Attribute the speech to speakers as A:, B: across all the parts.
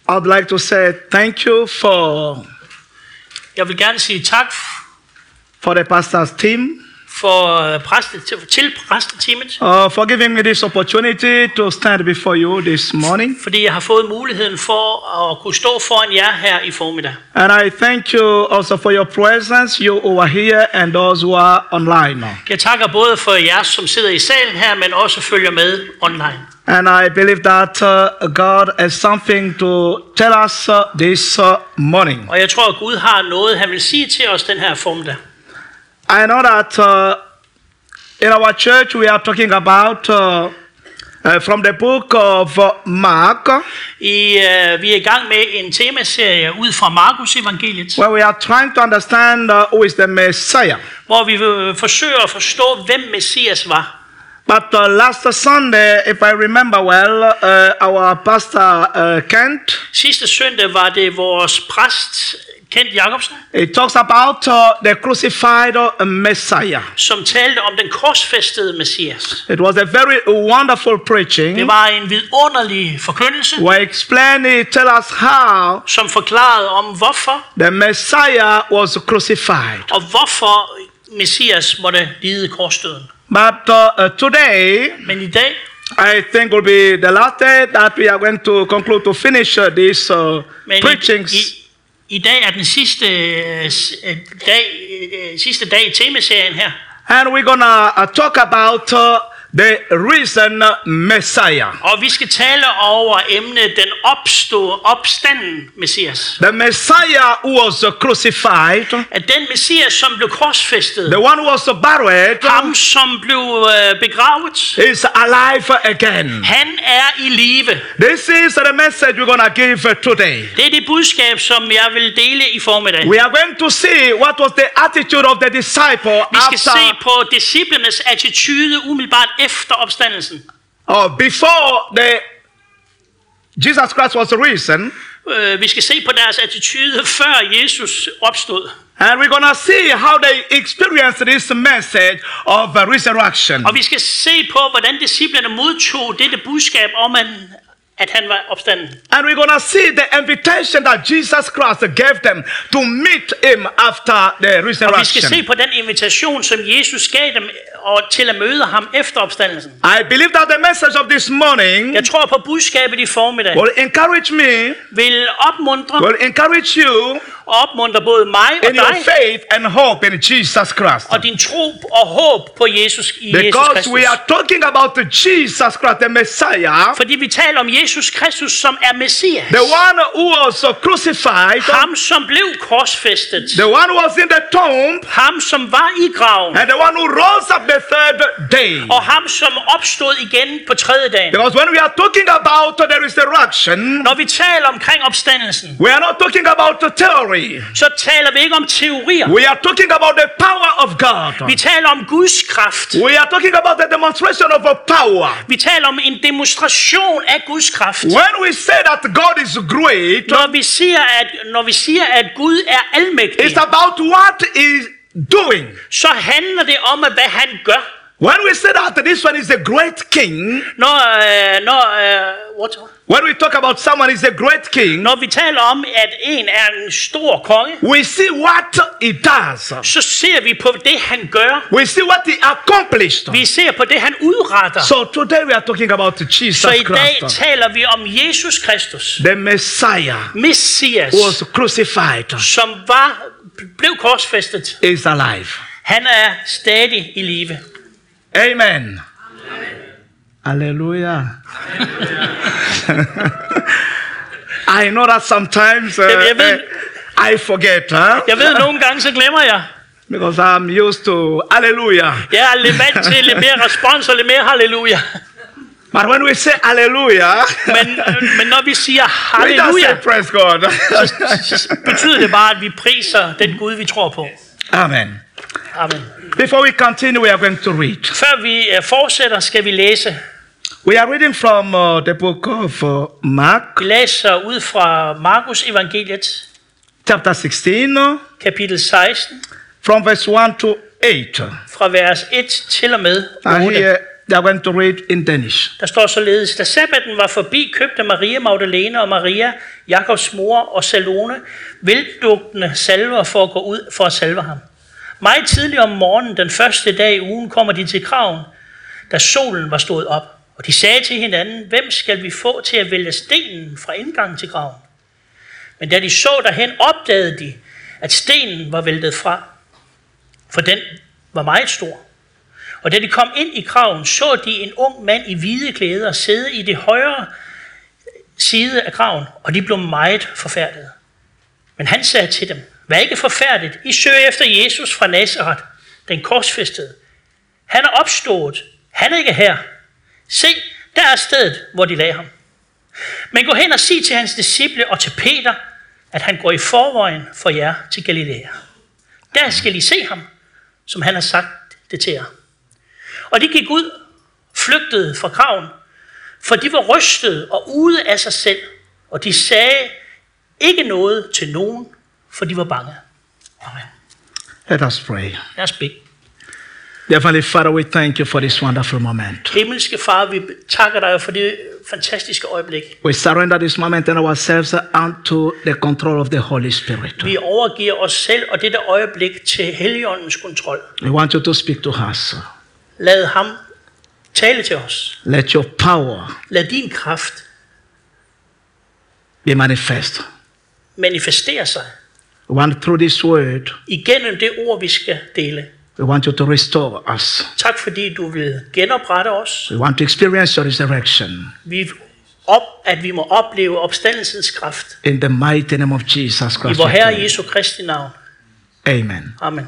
A: I'd like to say thank you
B: Jeg vil gerne sige tak
A: for the pastor's team
B: til præsteteamet,
A: for giving me this opportunity to stand before you this morning.
B: fordi jeg har fået muligheden for at kunne stå foran jer her i formiddag.
A: And I thank you also for your presence, you who are here and those who are online.
B: Jeg takker både for jer, som sidder i salen her, men også følger med online.
A: And I believe that God has something to tell us this morning.
B: Og jeg tror, at Gud har noget, han vil sige til os den her formiddag.
A: I know that in our church we are talking about from the book of Mark.
B: Vi er i gang med en temaserie ud fra Markus evangeliet,
A: Where we are trying to understand who is the Messiah.
B: hvor vi forsøger at forstå, hvem Messias var.
A: But last Sunday, if I remember well, our pastor Kent,
B: Sidste søndag var det vores præst, Kent Jacobsen,
A: he talks about the crucified Messiah.
B: som talte om den korsfæstede Messias.
A: It was a very wonderful preaching.
B: Det var en vidunderlig forkyndelse,
A: Where he tell us how
B: som forklarede om, hvorfor
A: the Messiah was crucified.
B: og hvorfor Messias måtte lide korsdøden.
A: But today,
B: Men i dag,
A: I think will be the last day that we are going to conclude to finish these
B: men
A: preachings.
B: i dag er den sidste dag i temaserien her.
A: And we're gonna talk about the risen Messiah.
B: Og vi skal tale over emnet den opstanden Messias.
A: The Messiah who was crucified,
B: At den Messias, som blev korsfæstet,
A: the one who was buried,
B: ham som blev begravet,
A: is alive again.
B: han er i live.
A: This is the message we're gonna give today.
B: Det er det budskab, som jeg vil dele i formiddag.
A: We are going to see what was the attitude of the disciple
B: Vi skal se
A: after
B: på disciplernes attitude umiddelbart efter opstandelsen.
A: before Jesus Christ was risen,
B: Vi skal se på deres attitude før Jesus opstod.
A: and we're gonna see how they experienced this message of resurrection.
B: Og vi skal se på, hvordan disciplerne modtog dette budskab om, at han var opstanden.
A: And we're gonna see the invitation that Jesus Christ gave them to meet him after the
B: Og vi skal se
A: resurrection.
B: på den invitation, som Jesus gav dem til at møde ham efter opstandelsen.
A: I believe that the message of this morning
B: Jeg tror på budskabet i formiddag
A: will encourage me,
B: vil opmuntre
A: will encourage you
B: og opmuntre både mig og
A: in your
B: dig
A: faith and hope in Jesus Christ.
B: og din tro og håb på Jesus i Jesus
A: Because
B: Kristus.
A: we are talking about the Jesus Christ, the Messiah,
B: Fordi vi taler om Jesus Kristus, som er Messias.
A: the one who was crucified,
B: Ham, som blev korsfæstet.
A: the one who was in the tomb,
B: Ham, som var i graven.
A: and the one who rose up the third day.
B: Og ham, som opstod igen på tredje dagen.
A: Because when we are talking about the resurrection,
B: Når vi taler omkring opstandelsen,
A: we are not talking about the theory.
B: så taler vi ikke om teorier.
A: We are talking about the power of God.
B: Vi taler om Guds kraft.
A: We are talking about the demonstration of a power.
B: Vi taler om en demonstration af Guds kraft.
A: When we say that God is great,
B: Når vi siger, at Gud er almægtig,
A: it's about what he's doing.
B: så handler det om, hvad han gør.
A: When we say that this one is a great king, when we talk about someone is a great king,
B: Når vi taler om, at en er en stor konge,
A: we see what he does.
B: så ser vi på det, han gør.
A: We see what he accomplished.
B: Vi ser på det, han udretter.
A: So today we are talking about Jesus
B: Så i dag
A: Christ,
B: taler vi om Jesus Kristus,
A: the Messiah
B: Messias,
A: who was crucified,
B: som blev korsfæstet.
A: is alive.
B: Han er stadig i live.
A: Amen. Hallelujah. I know that sometimes I forget,
B: Jeg ved, nogle gange så glemmer jeg.
A: because I'm used to hallelujah.
B: Jeg er lidt vant til lidt mere respons og lidt mere halleluja.
A: But when we say hallelujah,
B: Men når vi siger
A: we just say
B: halleluja,
A: praise God.
B: så betyder det bare, at vi priser den Gud, vi tror på.
A: Amen.
B: Amen.
A: Before we continue, we are going to read.
B: Før vi fortsætter, skal vi læse.
A: We are reading from the book of Mark,
B: Vi læser ud fra Markus evangeliet,
A: chapter 16,
B: kapitel 16,
A: from verse 1 to 8.
B: fra vers 1 til og med
A: And
B: 8.
A: here they are going to read in Danish.
B: Der står således: Da sabbaten var forbi, købte Maria Magdalene og Maria Jakobs mor og Salome, vildugtende salver for at gå ud for at salve ham. Meget tidligt om morgenen, den første dag i ugen, kommer de til graven, da solen var stået op. Og de sagde til hinanden, hvem skal vi få til at vælge stenen fra indgangen til graven? Men da de så derhen, opdagede de, at stenen var væltet fra, for den var meget stor. Og da de kom ind i graven, så de en ung mand i hvide klæder sidde i det højre side af graven, og de blev meget forfærdede. Men han sagde til dem, vær ikke forfærdet, I søger efter Jesus fra Nazareth, den korsfæstede. Han er opstået, han er ikke her. Se, der er stedet, hvor de lagde ham. Men gå hen og sig til hans disciple og til Peter, at han går i forvejen for jer til Galilea. Der skal I se ham, som han har sagt det til jer. Og de gik ud, flygtede fra graven, for de var rystede og ude af sig selv, og de sagde ikke noget til nogen, for de var bange. Amen.
A: Let us pray.
B: Lad os bede.
A: Heavenly Father, we thank you for this wonderful moment.
B: Himmelske Far, vi takker dig for det fantastiske øjeblik.
A: We surrender this moment and ourselves unto the control of the Holy Spirit.
B: Vi overgiver os selv og dette øjeblik til Helligåndens kontrol.
A: We want you to speak to us.
B: Lad ham tale til os.
A: Let your power
B: Lad din kraft
A: be manifest.
B: manifestere sig
A: We want through this word,
B: igennem det ord, vi skal dele.
A: we want you to restore us.
B: Tak fordi du vil genoprette os.
A: We want to experience your resurrection.
B: At vi må opleve opstandelsens kraft.
A: In the mighty name of Jesus
B: I
A: Christ.
B: vor
A: we
B: Herre
A: pray.
B: Jesu Kristi navn.
A: Amen.
B: Amen.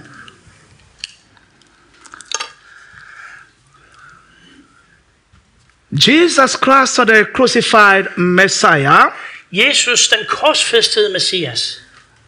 A: Jesus Christ, the crucified Messiah,
B: Jesus, den korsfæstede Messias.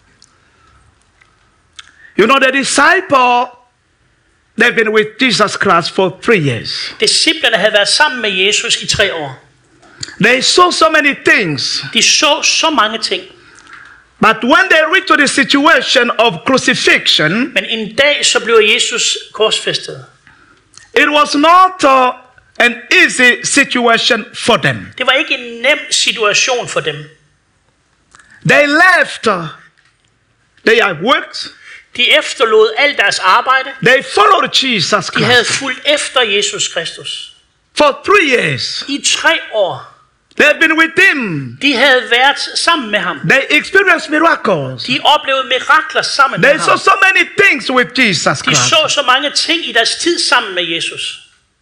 A: you know, the disciple, they've been with Jesus Christ for 3 years.
B: Disciplerne havde været sammen med Jesus i 3 år.
A: They saw so many things,
B: De så mange ting.
A: but when they reached to the situation of crucifixion,
B: Men en dag så blev Jesus korsfæstet.
A: it was not an easy situation for them.
B: Det var ikke en nem situation for dem.
A: They left their works,
B: De efterlod alt deres arbejde.
A: they followed Jesus
B: De havde
A: Christ
B: fulgt efter Jesus Kristus.
A: for 3 years.
B: I 3 år.
A: They had been with him.
B: De havde været sammen med ham.
A: They experienced miracles.
B: De oplevede mirakler sammen med
A: They saw
B: ham.
A: so many things with Jesus
B: De
A: Christ.
B: så så mange ting i deres tid sammen med Jesus.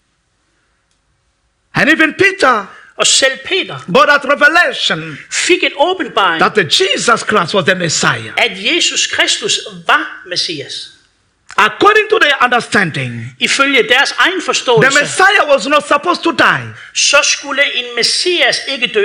A: And even Peter
B: Og selv Peter
A: got that revelation
B: fik en åbenbaring,
A: that the Jesus Christ was the Messiah.
B: at Jesus Kristus var Messias.
A: According to their understanding,
B: Ifølge deres egen
A: the
B: forståelse,
A: Messiah was not supposed to die.
B: så skulle en Messias ikke dø.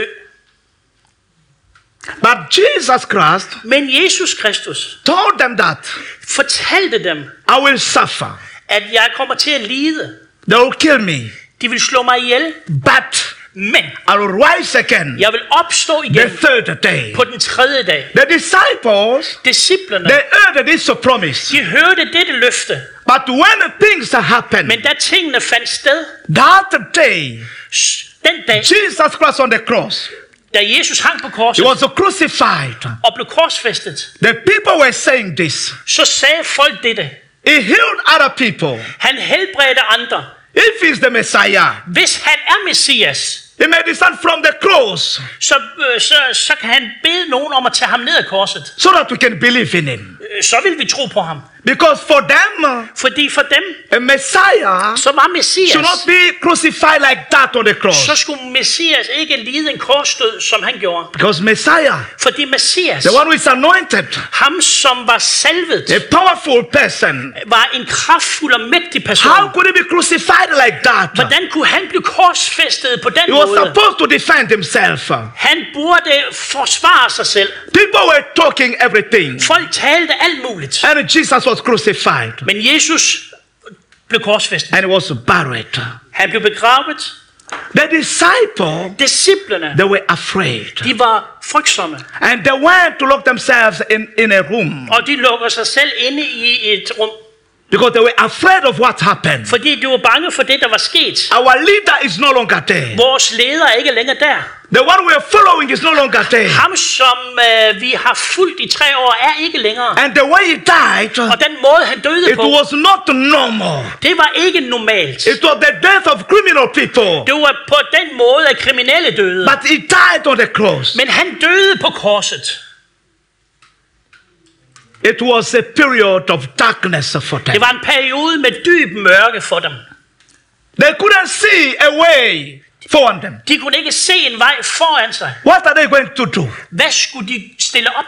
A: But Jesus Christ
B: Men Jesus Kristus
A: told them that
B: fortalte dem,
A: I will suffer.
B: at jeg kommer til at lide.
A: They will kill me.
B: De vil slå mig ihjel,
A: But
B: men
A: I will rise again
B: jeg vil opstå
A: the
B: igen
A: third day.
B: på den 3. dag.
A: The disciples,
B: Disciplerne,
A: they heard this promise.
B: de hørte dette løfte,
A: But when things happened,
B: men da tingene fandt sted,
A: that day,
B: den dag,
A: Jesus Christ on the cross,
B: da Jesus hang på
A: he
B: korset
A: was crucified.
B: og blev korsfæstet,
A: The people were saying this.
B: så sagde folk dette.
A: He healed other people.
B: Han helbredte andre.
A: If he's the Messiah,
B: Hvis han er Messias,
A: he may descend from the cross
B: så kan han bede nogen om at tage ham ned af korset.
A: so that we can believe in him.
B: Så vil vi tro på ham.
A: Because for them,
B: Fordi for dem,
A: a Messiah
B: som var Messias,
A: should not be crucified like that on the cross.
B: så skulle Messias ikke lide en korsdød, som han gjorde.
A: Because Messiah,
B: Fordi Messias,
A: the one who is anointed,
B: ham som var salvet,
A: a powerful person,
B: var en kraftfuld og mægtig person.
A: how could he be crucified like that?
B: Hvordan kunne han blive korsfæstet på den
A: He was
B: måde?
A: supposed to defend himself.
B: Han burde forsvare sig selv.
A: People were talking everything.
B: Folk talte alt muligt.
A: And Jesus was crucified.
B: Men Jesus blev korsfæstet.
A: And he was buried.
B: Han blev begravet.
A: The disciples,
B: Disciplerne,
A: they were afraid.
B: de var frygtsomme.
A: And they went to lock themselves in a room.
B: Og de lukker sig selv inde i et rum.
A: Because they were afraid of what happened.
B: Fordi de var bange for det, der var sket.
A: Our leader is no longer there.
B: Vores leder er ikke længere der.
A: The one we are following is no longer there.
B: Ham, som vi har fulgt i 3 år, er ikke længere.
A: And the way he died,
B: Og den måde, han døde
A: it
B: på,
A: was not normal.
B: det var ikke normalt.
A: It was the death of criminal people.
B: Det var på den måde, at kriminelle døde.
A: But he died on the cross.
B: Men han døde på korset.
A: It was a period of darkness for them.
B: Det var en periode med dyb mørke for dem.
A: They couldn't see a way foran them.
B: De kunne ikke se en vej foran sig.
A: What are they going to do?
B: Hvad skulle de stille op?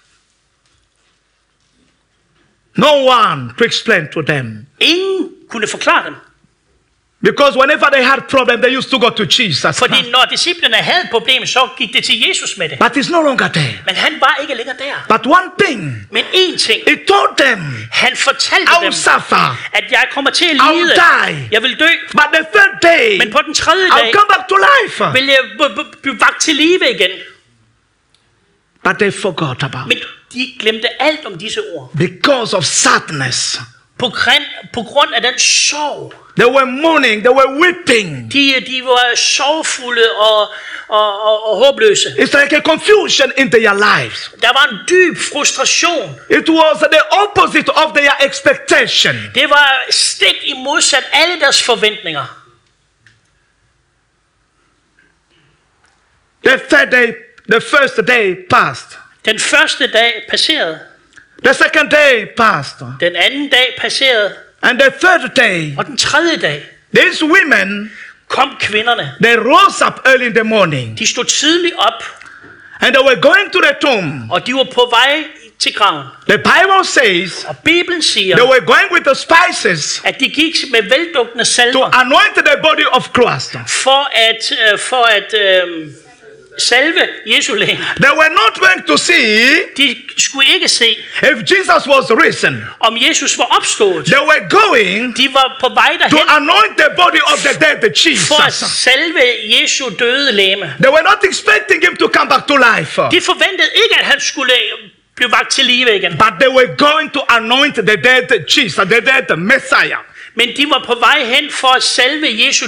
A: No one to explain to them.
B: Ingen kunne forklare dem.
A: Because whenever they had problem, they used to go to Jesus.
B: Fordi når disciplene havde et problem, så gik det til Jesus med det.
A: But he's no longer there.
B: Men han var ikke længere der.
A: But one thing,
B: Men én ting,
A: he told them,
B: han fortalte
A: I will
B: dem,
A: suffer,
B: at jeg kommer til at
A: I will
B: lide.
A: die.
B: Jeg vil dø.
A: But the third day,
B: Men på den tredje
A: I'll
B: dag
A: come back to life.
B: vil jeg blive vakt til live igen.
A: But they forgot about
B: Men
A: it.
B: de glemte alt om disse ord.
A: Because of sadness.
B: På grund af den sorg.
A: They were mourning, they were weeping.
B: De var sorgfulde og håbløse.
A: It's like a confusion in their lives.
B: Der var en dyb frustration.
A: It was the opposite of their expectation.
B: Det var stik i modsat alle deres forventninger.
A: The first day passed.
B: Den første dag passerede.
A: The second day passed.
B: Den anden dag passerede.
A: And the third day,
B: Og den tredje dag
A: these women,
B: kom kvinderne.
A: they rose up early in the morning.
B: De stod tidligt op,
A: And they were going to the tomb.
B: og de var på vej til graven.
A: The Bible says
B: Og Bibelen siger,
A: they were going with the spices
B: at de gik med veldugtende
A: to
B: salver
A: anoint the body of Christ.
B: for at salve Jesu læge.
A: They were not going to see
B: De skulle ikke se,
A: if Jesus was risen.
B: om Jesus var opstået.
A: They were going
B: De var på vej
A: to
B: derhen
A: anoint the body of the dead
B: for at
A: Jesus.
B: salve Jesu døde læme.
A: They were not expecting him to come back to life.
B: De forventede ikke, at han skulle blive vakt til live igen.
A: But they were going to anoint the dead Jesus, the dead Messiah.
B: Men de var på vej hen for at salve Jesu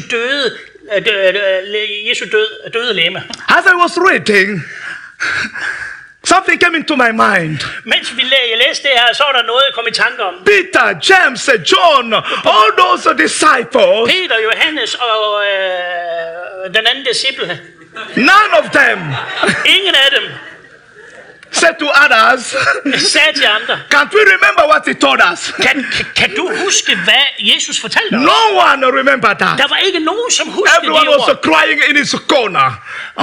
B: døde læme.
A: As I was reading, something came into my mind.
B: Mens jeg læste det her, så var der noget, jeg kom i tanke om.
A: Peter, James, John, all those disciples,
B: Peter, Johannes og den anden disciple.
A: none of them
B: Ingen af dem
A: said to others,
B: sagde til andre,
A: can't we remember what he told us?
B: kan du huske, hvad Jesus fortalte os?
A: No one remembered that.
B: Der var ikke nogen, som huskede
A: Everyone
B: de
A: was
B: ord.
A: crying in his corner.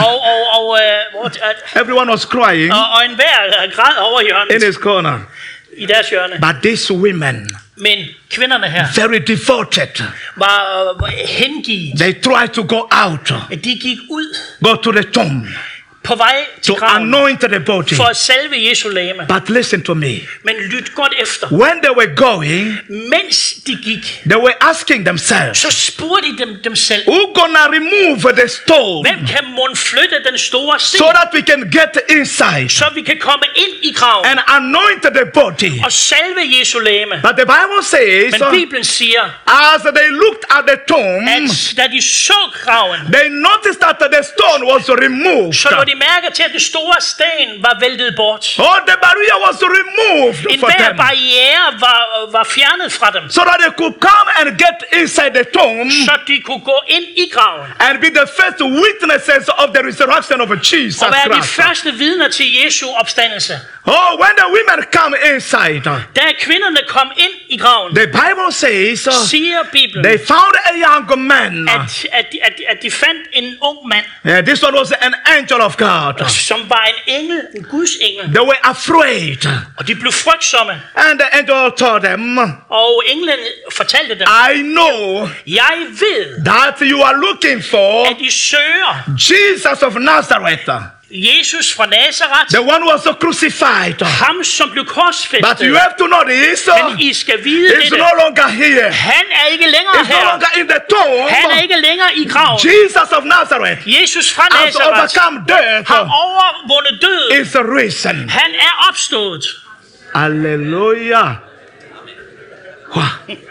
A: Everyone was crying
B: Og enhver græd over
A: in
B: hjørnet,
A: his corner.
B: i deres hjørne.
A: But these women,
B: Men kvinderne her
A: very devoted,
B: var hengivet.
A: they tried to go out,
B: De gik ud
A: go to the tomb,
B: på vej til
A: to
B: graven
A: anoint the body.
B: for at salve Jesu læme.
A: But listen to me.
B: Men lyt godt efter.
A: When they were going,
B: Mens de gik,
A: they were asking themselves,
B: så spurgte de dem selv,
A: who gonna remove the stone
B: hvem kan mon flytte den store sten,
A: so that we can get inside
B: så vi kan komme ind i graven
A: and anoint the body?
B: og salve Jesu læme.
A: But the Bible says,
B: Men Bibelen siger,
A: as they looked at the tomb,
B: at da de så graven,
A: they noticed that the stone was removed.
B: så lå de mærke til, at den store sten var væltet bort.
A: Oh, the barrier was removed
B: En
A: for
B: hver
A: them,
B: barriere var fjernet fra dem,
A: so that they could come and get inside the tomb
B: så de kunne gå ind i graven
A: and be the first witnesses of the resurrection of Jesus
B: og være de
A: Christ.
B: første vidner til Jesu opstandelse.
A: Oh, when the women come inside,
B: Da kvinderne kom ind i graven,
A: the Bible says
B: siger Bibelen,
A: they found a young man.
B: at de fandt en ung mand,
A: Yeah, this one was an angel of God.
B: som var en engel, en Guds engel,
A: They were afraid.
B: og de blev frygtsomme.
A: And the angel told them,
B: Og englen fortalte dem,
A: I know
B: jeg ved,
A: that you are looking for
B: at I søger
A: Jesus of Nazareth,
B: Jesus fra Nazareth,
A: the one who was crucified.
B: ham som blev
A: But
B: korsfæstet.
A: you have to know this,
B: Men I skal vide
A: he's
B: dette.
A: no longer here.
B: Han er ikke længere
A: He's no
B: her.
A: longer in the tomb.
B: Han er ikke længere i graven.
A: Jesus of Nazareth
B: Jesus fra
A: has
B: Nazareth
A: overcome death,
B: har overvundet døden.
A: is risen.
B: Han er opstået.
A: Hallelujah. Wow.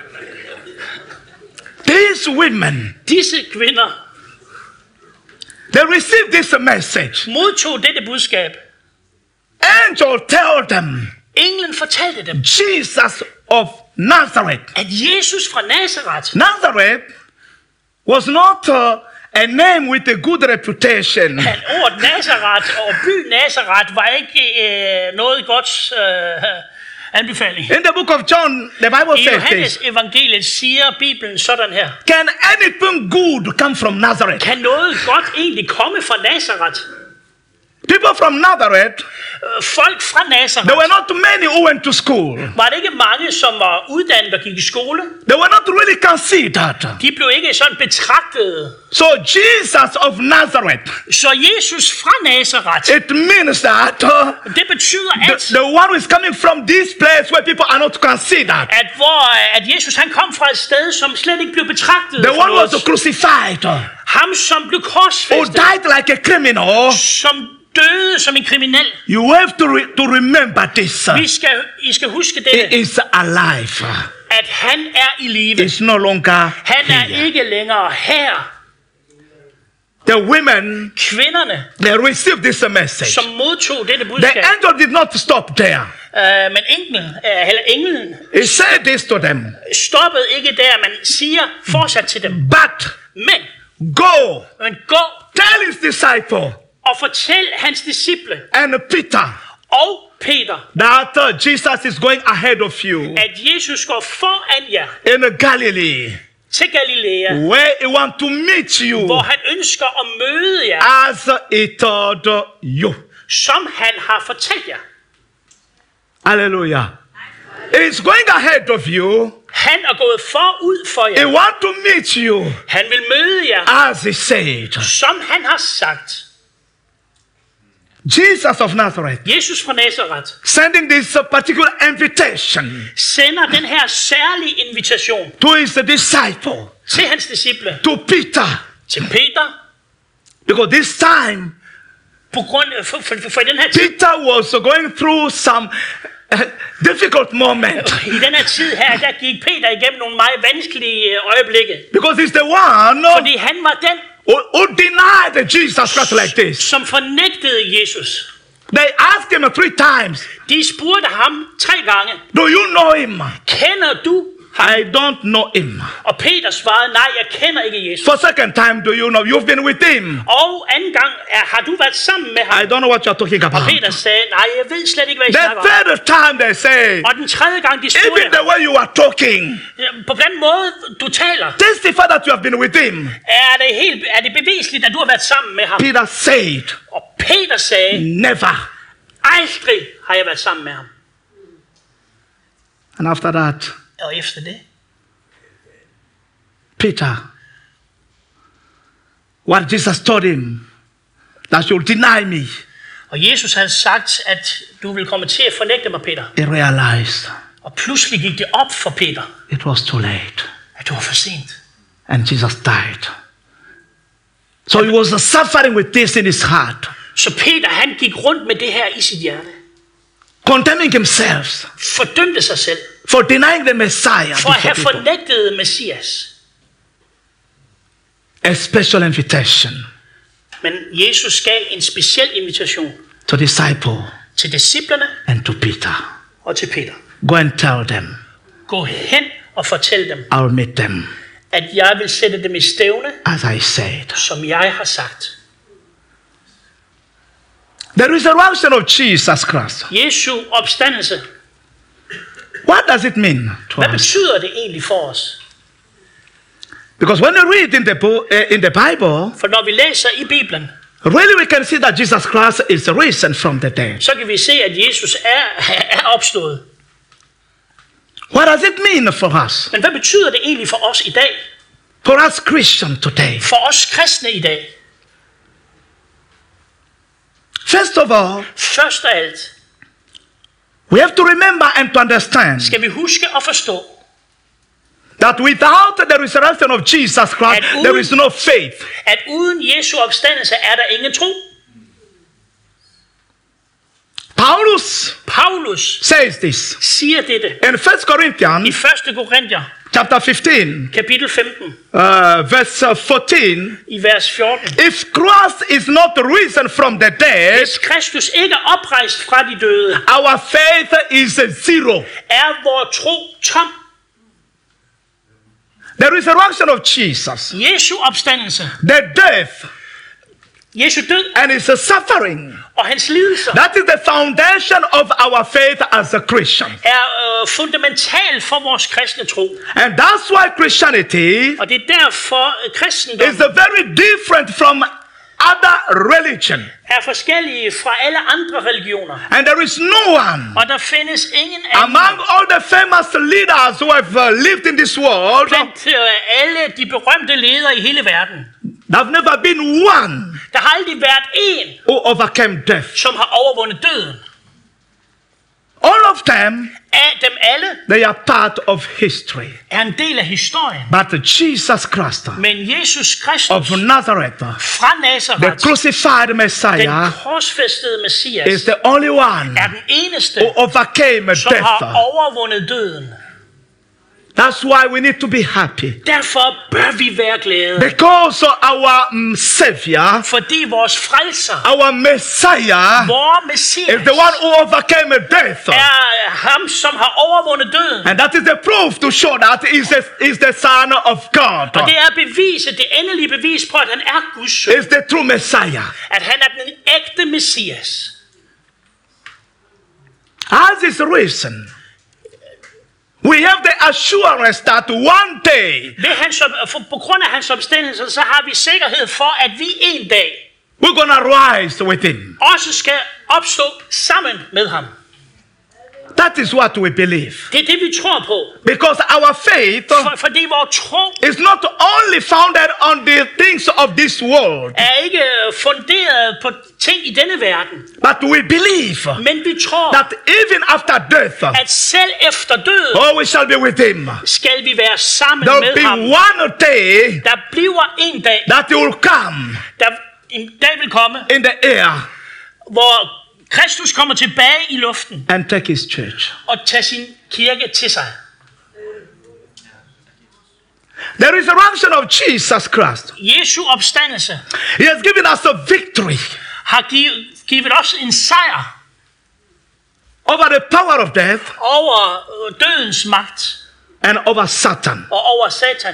A: These women,
B: Disse kvinder
A: they received this message.
B: modtog dette budskab.
A: Angel tell them,
B: Englen fortalte dem,
A: Jesus of Nazareth.
B: at Jesus fra Nazareth,
A: Nazareth was not a name with a good reputation.
B: at ordet Nazareth og by Nazareth var ikke noget godt anbefaling.
A: In the book of John, the Bible
B: I
A: says
B: Johannes
A: this.
B: evangeliet siger Bibelen sådan her.
A: Can anything good come from Nazareth?
B: Kan noget godt egentlig komme fra Nazareth?
A: People from Nazareth,
B: Folk fra Nazareth,
A: there were not many who went to school.
B: var det ikke mange, som var uddannet og gik i skole?
A: They were not really considered.
B: De blev ikke sådan betragtet.
A: So Jesus of Nazareth,
B: Så Jesus fra Nazareth,
A: it means that
B: det betyder,
A: the one who is coming from this place where people are not considered.
B: at Jesus han kom fra et sted, som slet ikke blev betragtet.
A: The
B: for
A: one who was
B: noget.
A: crucified,
B: Ham, som blev
A: who
B: korsfæstet,
A: died like a criminal.
B: som døde som en kriminel.
A: You have to remember this.
B: I skal huske
A: He
B: dette,
A: is alive.
B: at han er i live.
A: He's no longer
B: Han er
A: here.
B: ikke længere her.
A: The women,
B: Kvinderne,
A: they received this message.
B: som modtog dette
A: The
B: budskab,
A: angel did not stop there.
B: men englen
A: He said this to them.
B: stoppede ikke der, man siger fortsat til dem.
A: But
B: Men gå
A: tell his disciple
B: og fortæl hans disciple
A: and Peter
B: og Peter,
A: that Jesus is going ahead of you
B: at Jesus går foran jer
A: in Galilee,
B: til Galilea,
A: where he want to meet you
B: hvor han ønsker at møde jer,
A: as he told you.
B: som han har fortalt jer.
A: Hallelujah. He's going ahead of you.
B: Han er gået forud for
A: He
B: jer.
A: want to meet you
B: Han vil møde jer,
A: as he said.
B: som han har sagt.
A: Jesus of Nazareth
B: Jesus fra Nazareth
A: sending this particular invitation
B: sender den her særlige invitation
A: to his disciple,
B: til hans disciple,
A: to Peter,
B: til Peter,
A: because this time
B: på grund for den her tid.
A: Peter was going through some difficult moment,
B: I den her tid her, der gik Peter igennem nogle meget vanskelige øjeblikke.
A: because he's the one
B: Fordi han var den,
A: who denied Jesus Christ like this.
B: som fornægtede Jesus.
A: They asked him 3 times,
B: De spurgte ham 3 gange,
A: do you know him?
B: kender du ham?
A: I don't know him.
B: Og Peter svarede, nej, jeg kender ikke Jesus.
A: For second time, do you know? You've been with him.
B: Og anden gang, har du været sammen med
A: I
B: ham?
A: don't know what you're talking
B: Og
A: about.
B: Peter sagde, nej, jeg ved slet ikke, hvad I
A: The
B: snakker om.
A: third time they say,
B: Og den tredje gang, de spurgte
A: even the way you are talking,
B: ham, på den måde, du taler,
A: testify that you have been with him.
B: er det bevisligt, at du har været sammen med ham?
A: Peter said,
B: Og Peter sagde,
A: never.
B: aldrig har jeg været sammen med ham.
A: And after that,
B: Og efter det,
A: Peter, what Jesus told him, that you'll deny me,
B: og Jesus havde sagt, at du vil komme til at fornægte mig, Peter.
A: he realized
B: Og pludselig gik det op for Peter,
A: it was too late.
B: at det var for sent.
A: And Jesus died. So he was suffering with this in his heart,
B: Så Peter, han gik rundt med det her i sit hjerte.
A: condemning himself
B: Fordømte sig selv,
A: for denying the Messiah
B: for at
A: before
B: have
A: people.
B: fornægtet Messias.
A: A special invitation
B: Men Jesus gav en speciel invitation
A: to disciple
B: til disciplerne
A: and to Peter.
B: og til Peter.
A: Go and tell them,
B: Gå hen og fortæl dem,
A: I'll meet them,
B: at jeg vil sætte dem i stævne,
A: as I said.
B: som jeg har sagt.
A: The resurrection of Jesus Christ.
B: Jesu opstandelse,
A: What does it mean to
B: hvad
A: us?
B: betyder det egentlig for os?
A: Because when we read in the Bible,
B: For når vi læser i Bibelen,
A: really we can see that Jesus Christ is risen from the dead.
B: så kan vi se, at Jesus er opstået.
A: What does it mean for us?
B: Men hvad betyder det egentlig for os i dag?
A: For us Christians today?
B: For os kristne i dag?
A: First of all,
B: Først af alt
A: we have to remember and to understand
B: skal vi huske at forstå,
A: that without the resurrection of Jesus Christ, there is no faith.
B: at uden Jesu opstandelse er der ingen tro.
A: Paulus
B: Paulus
A: says this
B: siger dette
A: in 1
B: i
A: Corinthians
B: 1. Korinther,
A: chapter 15,
B: kapitel 15,
A: verse 14.
B: i vers 14.
A: If Christ is not risen from the dead,
B: Hvis Kristus ikke er oprejst fra de døde,
A: our faith is zero.
B: er vor tro tom.
A: The resurrection of Jesus,
B: Jesu opstandelse,
A: the death,
B: Jesu død
A: and his suffering,
B: og hans lidelser
A: that is the foundation of our faith as a Christian.
B: er fundamental for vores kristne tro.
A: And that's why Christianity
B: Og det er derfor kristendom
A: is very different from other religion.
B: er forskellige fra alle andre religioner.
A: And there is no one
B: Og der findes ingen anden
A: among all the famous leaders who have lived in this world.
B: blandt alle de berømte ledere i hele verden.
A: There have never been one
B: Der har aldrig været en,
A: who overcame death.
B: som har overvundet døden.
A: All of them,
B: Af dem alle
A: they are part of history.
B: er en del af historien.
A: But Jesus Christ
B: Men Jesus
A: of
B: Kristus
A: Nazareth,
B: fra
A: the
B: Nazareth,
A: crucified
B: den
A: Messiah,
B: korsfæstede
A: is
B: Messias,
A: the only one
B: er den eneste,
A: who overcame
B: som har
A: death.
B: overvundet døden.
A: That's why we need to be happy.
B: Derfor bør vi være glade.
A: Because our Savior,
B: Fordi vores frelser,
A: our Messiah,
B: vor Messias,
A: is the one who overcame death.
B: er ham, som har overvundet døden.
A: And that is the proof to show that he's the Son of God.
B: Og det er beviset, det endelige bevis på, at han er Guds søn.
A: Is the true Messiah.
B: At han er den ægte Messias.
A: As is risen, we have the assurance that one day
B: På grund af hans opstandelse, så har vi sikkerhed for, at vi en dag
A: we're going to rise with him.
B: også skal opstå sammen med ham.
A: That is what we believe.
B: Det er det, vi tror på.
A: Because our faith
B: Fordi vores tro
A: is not only founded on the things of this world,
B: er ikke funderet på ting i denne verden.
A: but we believe
B: Men vi tror,
A: that even after death,
B: at selv efter døden
A: we shall be with him.
B: skal vi være sammen
A: There
B: med
A: will be
B: ham.
A: one day
B: Der bliver en dag,
A: that he will come
B: en dag vil komme,
A: in the air
B: hvor Kristus kommer tilbage i luften
A: and take his church.
B: og tager sin kirke til sig.
A: The resurrection of Jesus Christ,
B: Jesu opstandelse
A: he has given us a victory
B: har givet os en sejr
A: over the power of death
B: over dødens magt
A: and over Satan.
B: og over Satan.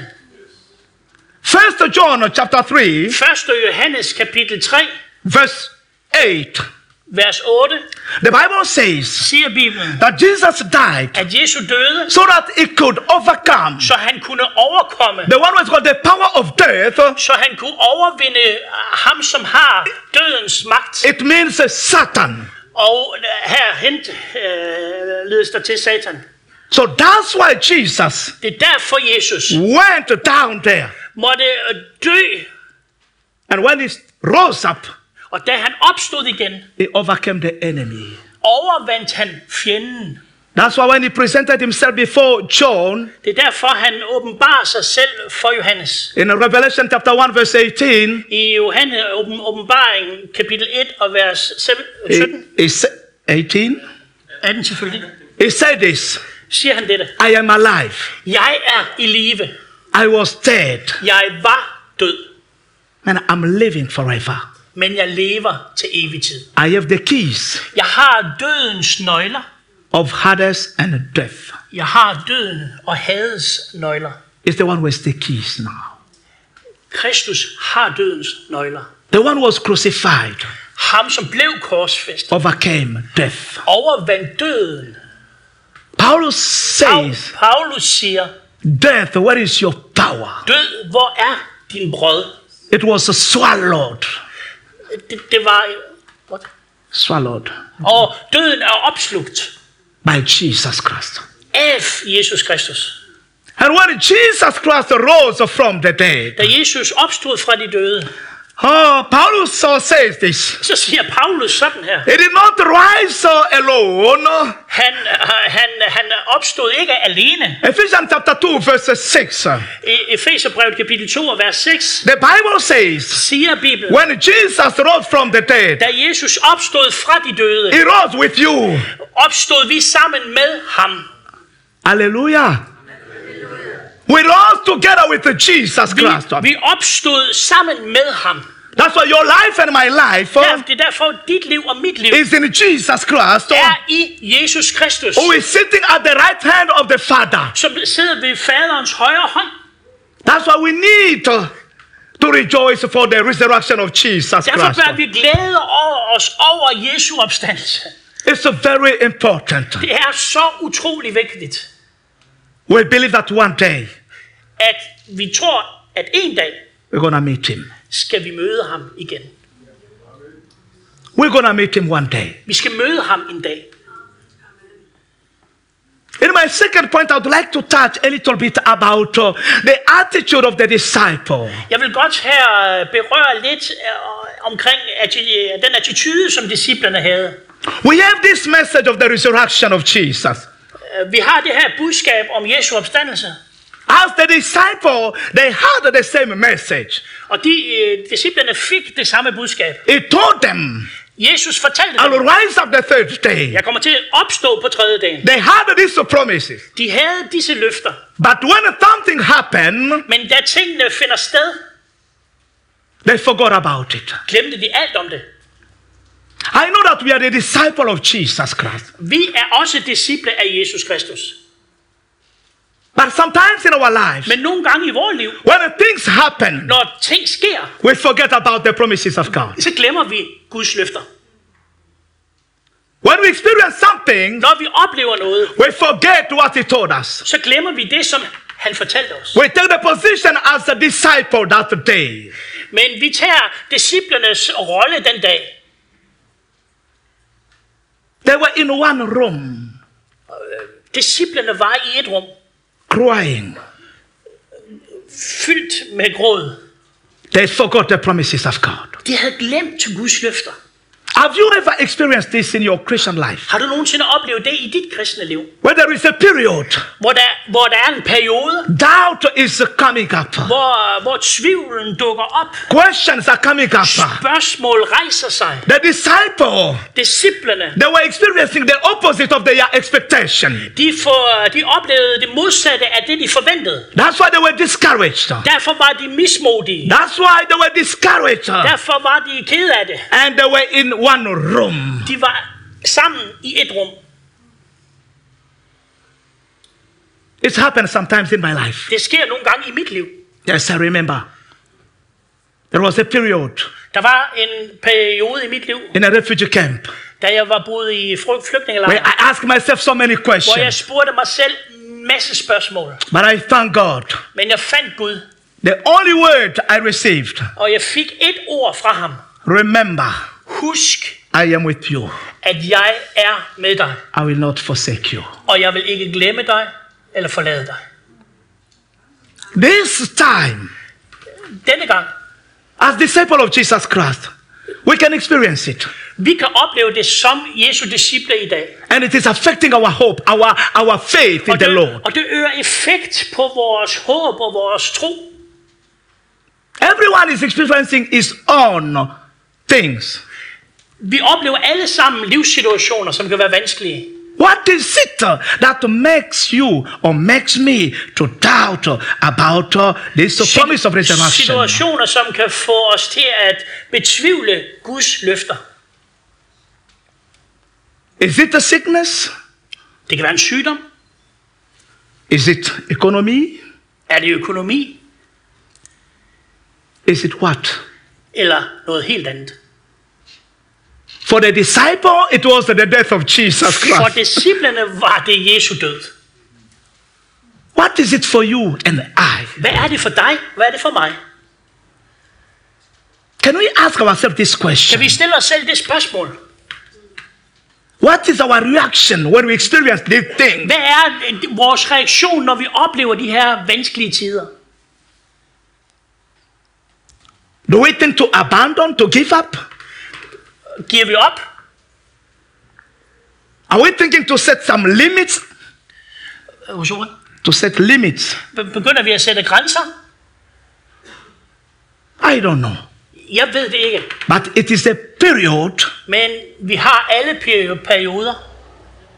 A: 1 John chapter 3,
B: 1. Johannes kapitel 3,
A: verse 8.
B: vers 8,
A: The Bible says
B: siger Bibelen,
A: that Jesus died
B: at Jesu døde,
A: so that he could overcome
B: så han kunne overkomme,
A: the one who's got the power of death.
B: så han kunne overvinde ham, som har dødens magt.
A: It means Satan.
B: Og her ledes der til Satan.
A: So that's why Jesus
B: Det er derfor Jesus
A: went down there.
B: måtte dø,
A: And when he rose up,
B: og da han opstod igen,
A: he overcame the enemy.
B: overvandt han fjenden.
A: That's why when he presented himself before John
B: Det er derfor, han åbenbarer sig selv for Johannes.
A: in Revelation chapter 1 verse 18,
B: I Johannes åbenbaring kapitel 1 og vers 17,
A: he 18,
B: 18 selvfølgelig,
A: he said this,
B: siger han dette.
A: I am alive.
B: Jeg er i live.
A: I was dead,
B: Jeg var død,
A: and I'm living forever.
B: men jeg lever til evig tid.
A: I have the keys
B: Jeg har dødens nøgler.
A: of Hades and death.
B: Jeg har døden og Hades nøgler.
A: It's the one with the keys now.
B: Kristus har dødens nøgler.
A: The one who was crucified
B: Ham, som blev korsfæstet,
A: overcame death.
B: overvandt døden.
A: Paulus says,
B: Paulus siger,
A: death, where is your power?
B: død, hvor er din brød?
A: It was swallowed.
B: Det var... What?
A: Swallowed
B: Og døden er opslugt
A: by Jesus Christ.
B: af Jesus Kristus.
A: And when Jesus Christ rose from the dead,
B: Da Jesus opstod fra de døde,
A: Paulus so says this.
B: så siger Paulus sådan her.
A: He did not rise alone.
B: Han opstod ikke alene.
A: Ephesians chapter 2 verse 6.
B: I Efeserbrevet kapitel 2 og vers 6
A: The Bible says,
B: siger Bibelen,
A: when Jesus rose from the dead,
B: da Jesus opstod fra de døde,
A: he rose with you.
B: opstod vi sammen med ham.
A: Hallelujah. We rose together with Jesus Christ.
B: Vi opstod sammen med ham.
A: That's why your life and my life
B: Det er derfor, dit liv og mit liv
A: is in Jesus Christ,
B: er i Jesus Kristus,
A: who is sitting at the right hand of the Father.
B: som sidder ved faderens højre hånd.
A: That's why we need to rejoice for the resurrection of Jesus
B: Derfor
A: Christ.
B: bør vi glæde os over Jesu opstandelse.
A: It's very important.
B: Det er så utrolig vigtigt,
A: We believe that one day
B: at vi tror, at en dag
A: we're going to meet him.
B: skal vi møde ham igen.
A: We're going to meet him one day.
B: Vi skal møde ham en dag.
A: In my second point, I would like to touch a little bit about the attitude of the disciple.
B: Jeg vil godt her berøre lidt omkring den attitude, som disciplerne havde.
A: We have this message of the resurrection of Jesus.
B: Vi har det her budskab om Jesu opstandelse.
A: As the disciple, they had the same message.
B: Og disciplerne fik det samme budskab.
A: He told them,
B: Jesus fortalte
A: I will
B: dem,
A: rise up the third day.
B: jeg kommer til at opstå på tredje dagen.
A: They had these promises.
B: De havde disse løfter.
A: But when something happened,
B: Men da tingene finder sted,
A: they forgot about it.
B: glemte de alt om det.
A: I know that we are the disciple of Jesus Christ.
B: Vi er også disciple af Jesus Kristus.
A: But sometimes in our lives,
B: Men nogle gange i vores liv,
A: when things happen,
B: når ting sker,
A: we forget about the promises of God.
B: så glemmer vi Guds løfter.
A: When we experience something,
B: Når vi oplever noget,
A: we forget what he told us.
B: så glemmer vi det, som han fortalte os.
A: We take the position as a disciple that day.
B: Men vi tager disciplernes rolle den dag.
A: They were in one room,
B: Disciplerne var i et rum,
A: crying.
B: fyldt med gråd.
A: They forgot the promises of God.
B: De havde glemt Guds løfter.
A: Have you ever experienced this in your Christian life?
B: Har du nogensinde oplevet det i dit kristne liv?
A: Where there is a period,
B: Hvor der er en periode,
A: doubt is coming up.
B: hvor tvivlen dukker op.
A: Questions are coming up.
B: Spørgsmål rejser sig.
A: The disciple,
B: Disciplerne,
A: they were experiencing the opposite of their expectation.
B: de oplevede det modsatte af det, de forventede.
A: That's why they were discouraged.
B: Derfor var de mismodige.
A: That's why they were discouraged.
B: Derfor var de ked af det.
A: And they were in one room.
B: De var sammen i et rum.
A: It's happened sometimes in my life.
B: Det sker nogle gange i mit liv.
A: Yes, I remember. There was a period
B: Der var en periode i mit liv,
A: in a refugee camp
B: da jeg var boet i
A: where
B: flygtningelejr,
A: I asked myself so many
B: hvor jeg
A: questions.
B: spurgte mig selv en masse spørgsmål.
A: But I thank God.
B: Men jeg fandt Gud,
A: The only word I received,
B: og jeg fik et ord fra ham.
A: remember,
B: Husk,
A: I am with you.
B: at jeg er med dig,
A: I will not forsake you.
B: og jeg vil ikke glemme dig eller forlade dig.
A: This time,
B: Denne gang,
A: as disciple of Jesus Christ, we can experience it.
B: vi kan opleve det som Jesu disciple i dag.
A: And it is affecting our hope, our faith in the Lord.
B: Og det øger effekt på vores håb og vores tro.
A: Everyone is experiencing his own things.
B: Vi oplever alle sammen livssituationer, som kan være vanskelige.
A: What is it that makes you or makes me to doubt about this promise of resurrection?
B: Situationer, som kan få os til at betvivle Guds løfter.
A: Is it a sickness?
B: Det kan være en sygdom.
A: Is it economy?
B: Er det økonomi?
A: Is it what?
B: Eller noget helt andet?
A: For the disciple, it was the death of Jesus
B: For
A: Christ.
B: disciplene var det Jesu død.
A: What is it for you and I?
B: Hvad er det for dig? Hvad er det for mig?
A: Can we ask ourselves this
B: Kan
A: question?
B: vi stille os selv det spørgsmål?
A: What is our reaction when we experience these things?
B: Hvad er vores reaktion, når vi oplever de her vanskelige tider?
A: Do we think to abandon, to give up?
B: Giver vi op?
A: Are we thinking to set some limits? To set limits?
B: Begynder vi at sætte grænser?
A: I don't know.
B: Jeg ved det ikke.
A: But it is a period
B: Men vi har alle perioder,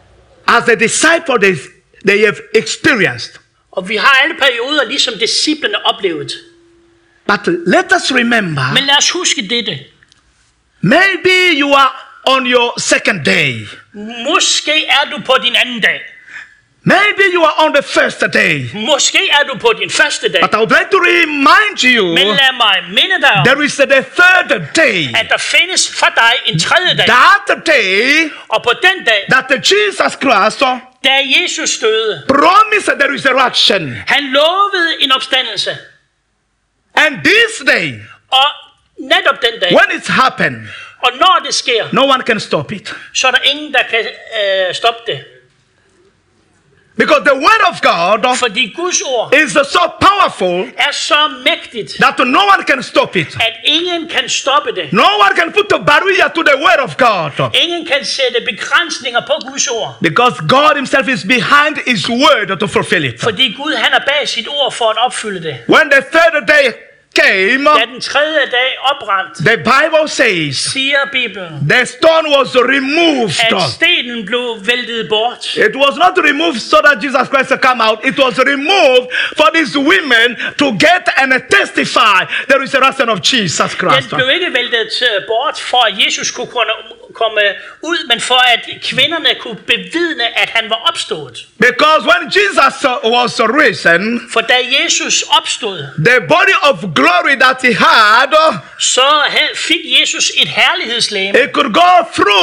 A: as the disciples they have experienced.
B: Og vi har alle perioder, ligesom disciplene oplevet.
A: But let us remember,
B: Men lad os huske dette.
A: maybe you are on your second day.
B: Måske er du på din anden dag.
A: Maybe you are on the first day.
B: Måske er du på din første dag.
A: But I would like to remind you,
B: Men lad mig minde dig om,
A: there is the third day.
B: at der findes for dig en tredje dag.
A: That day
B: Og på den dag,
A: that Jesus Christ
B: da Jesus døde,
A: promised the resurrection.
B: han lovede en opstandelse.
A: And this day,
B: Og netop den dag,
A: when it's happened,
B: og når det sker,
A: no one can stop it.
B: så er der ingen, der kan stoppe det.
A: Because the word of God
B: Fordi Guds ord
A: is so powerful
B: er så mægtigt,
A: that no one can stop it.
B: at ingen kan stoppe det.
A: No one can put a barrier to the word of God.
B: Ingen kan sætte begrænsninger på Guds ord.
A: Because God himself is behind his word to fulfill it.
B: Fordi Gud han er bag sit ord for at opfylde det.
A: When the third day came,
B: Da den tredje dag opbrændt,
A: the Bible says
B: siger Bibelen,
A: the stone was removed.
B: at stenen blev væltet bort.
A: It was not removed so that Jesus Christ would come out. It was removed for these women to get and testify the resurrection of Jesus
B: Den
A: Christ.
B: blev ikke væltet bort for at Jesus kunne komme ud, men for at kvinderne kunne bevidne, at han var opstået.
A: Because when Jesus was risen,
B: For da Jesus opstod,
A: the body of glory that he had,
B: så fik Jesus et herlighedslegeme.
A: it could go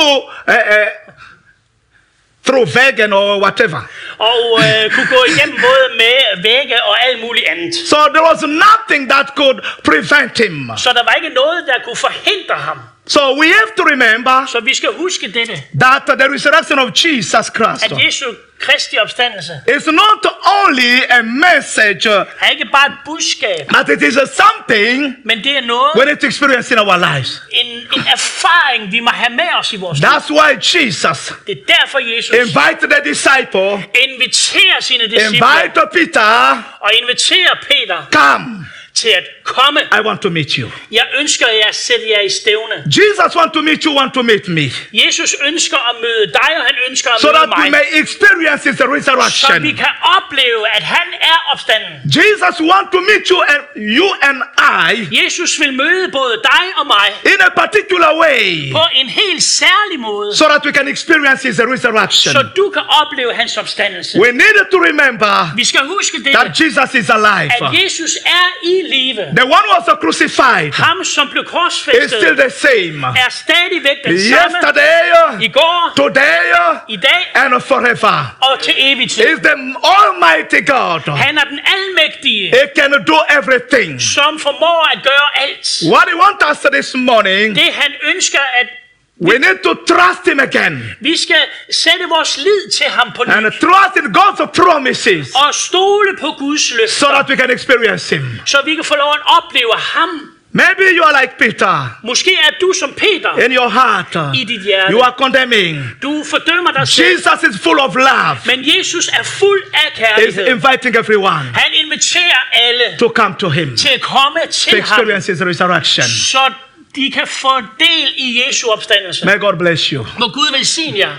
A: through vegan or whatever.
B: Og kunne gå igennem både med vægge og alt muligt andet.
A: So there was nothing that could prevent him.
B: Så der var ikke noget, der kunne forhindre ham.
A: So we have to remember
B: Så vi skal huske dette,
A: that the resurrection of Jesus Christ
B: at Jesu Kristi opstandelse
A: is not only a message,
B: er ikke bare et budskab,
A: but it is something
B: men det er noget,
A: we need to experience in our lives.
B: en erfaring, vi må have med os i vores liv.
A: That's why Jesus
B: Det er derfor, Jesus
A: invited the disciple,
B: inviterer sine disciple
A: invite Peter,
B: og inviterer Peter
A: come,
B: til at komme.
A: I want to meet you.
B: Jeg ønsker jer at sætte jer i stævne.
A: Jesus want to meet you, want to meet me.
B: Jesus ønsker at møde dig, og han ønsker at
A: So
B: møde
A: that we
B: mig.
A: may experience his
B: Så vi
A: resurrection.
B: kan opleve, at han er opstanden.
A: Jesus want to meet you and I
B: Jesus vil møde både dig og mig
A: in a particular way,
B: på en helt særlig måde,
A: so that we can experience his resurrection.
B: så du kan opleve hans opstandelse.
A: We need to remember
B: Vi skal huske det,
A: that Jesus is alive.
B: at Jesus er i live.
A: The one who was crucified
B: Ham, som blev
A: is
B: korsfæstet,
A: still the same.
B: er stadigvæk den samme
A: Yesterday,
B: i går,
A: today,
B: i dag
A: and forever.
B: og til evig tid.
A: Is the Almighty God.
B: Han er den almægtige,
A: He can do everything.
B: som formår at gøre alt.
A: What he wants us this morning,
B: Det han ønsker, at
A: we need to trust him again
B: vi skal sætte vores lid til ham på
A: and
B: ny,
A: trust in God's promises,
B: og stole på Guds
A: so
B: løfter,
A: that we can experience him.
B: så vi kan få lov at opleve ham.
A: Maybe you are like Peter
B: Måske er du som Peter
A: in your heart.
B: i dit hjerte.
A: You are condemning.
B: Du fordømmer dig selv,
A: Jesus is full of love.
B: men Jesus er fuld af
A: He's
B: kærlighed.
A: inviting everyone
B: Han inviterer alle
A: to come to him
B: til at komme
A: to
B: til ham,
A: experience his resurrection.
B: så de kan få del i Jesu opstandelse.
A: May God bless you.
B: Må Gud velsigne jer.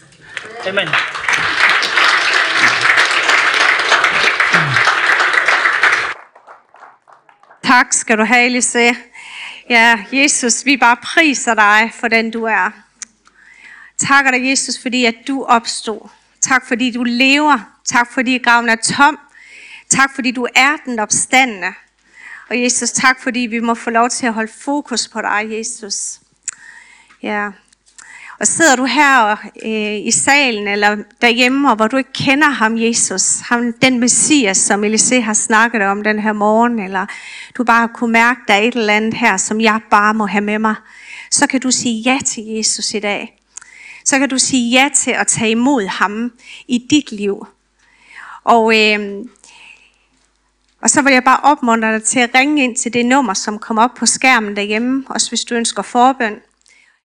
B: Amen.
C: Tak skal du have, Elise. Ja, Jesus, vi bare priser dig for den du er. Takker dig, Jesus, fordi at du opstod. Tak fordi du lever. Tak fordi graven er tom. Tak fordi du er den opstandne. Og Jesus, tak fordi vi må få lov til at holde fokus på dig, Jesus. Ja. Og sidder du her i salen eller derhjemme, og hvor du ikke kender ham, Jesus, ham, den Messias, som Elise har snakket om den her morgen, eller du bare kunne mærke, der er et eller andet her, som jeg bare må have med mig, så kan du sige ja til Jesus i dag. Så kan du sige ja til at tage imod ham i dit liv. Og så vil jeg bare opmuntre dig til at ringe ind til det nummer, som kommer op på skærmen derhjemme, også hvis du ønsker forbøn.